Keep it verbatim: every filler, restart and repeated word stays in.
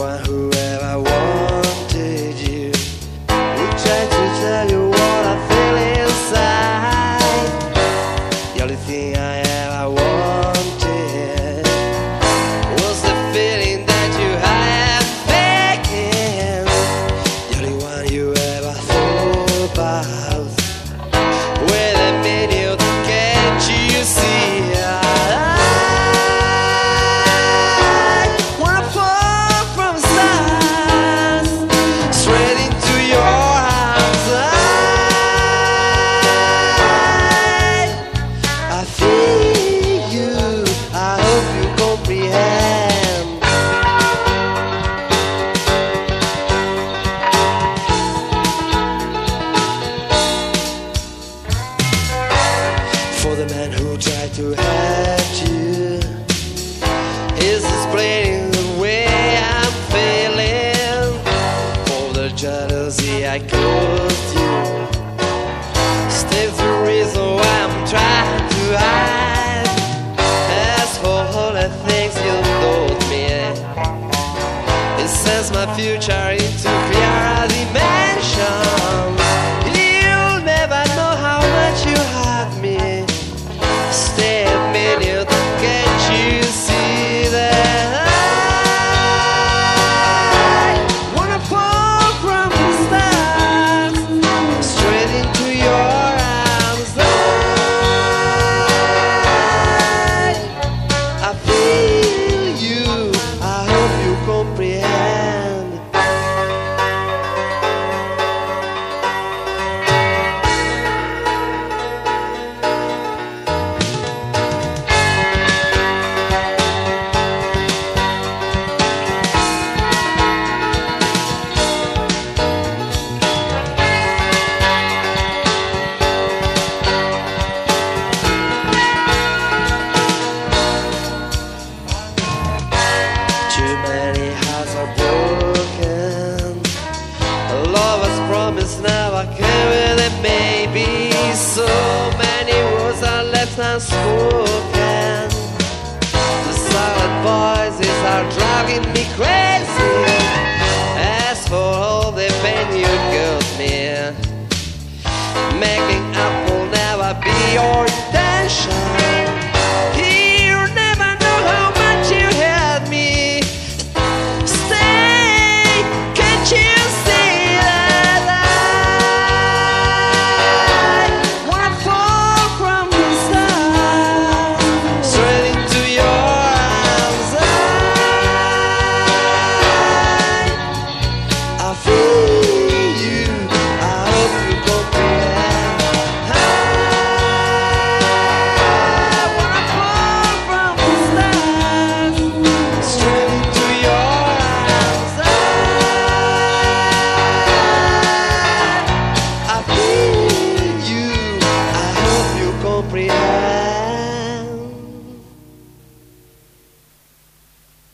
one who ever wanted you would try to tell you what I feel inside. The only thing I ever wanted was the feeling that you had making. The only one you ever thought about. With a minute, can't you see? For the man who tried to hurt you is explaining the way I'm feeling. For the jealousy I caused you, still the reason why I'm trying to hide. As for all the things you told me, it sends my future into clearer dimensions. You'll never know how much you have me. Stay a minute, can't you see that I wanna fall from the stars straight into your arms? I, I feel you, I hope you comprehend. Too many hearts are broken. Lovers promise never came with it, maybe. So many words are left unspoken.